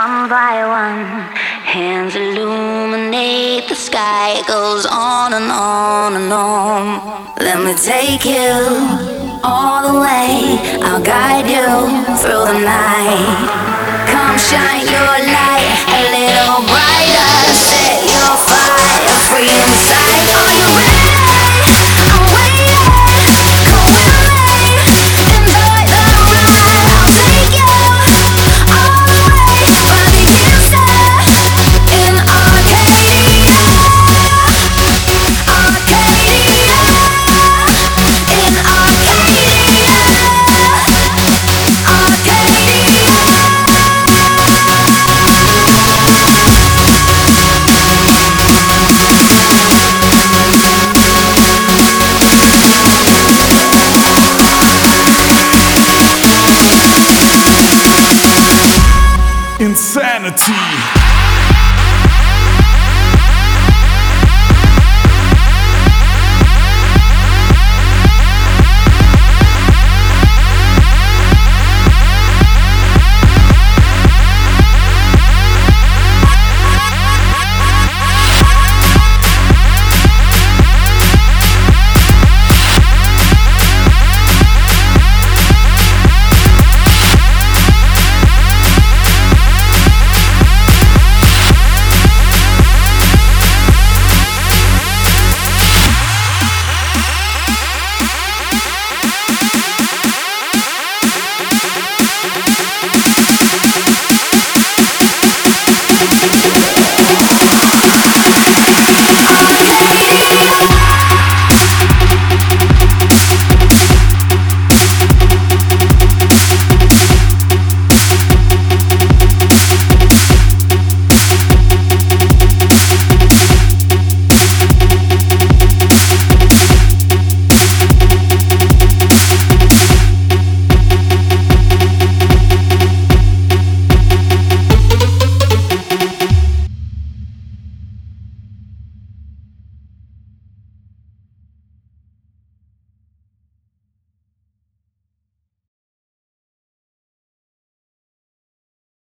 one by one, hands illuminate the sky. It goes on and on and on. Let me take you all the way. I'll guide you through the night. Come shine your light a little brighter. Set your fire free inside. Are you ready? I'm waiting. Come with me. Enjoy the ride. I'll take you all the way. By the inside in Arcadia. Arcadia. In Arcadia. Arcadia. Insanity.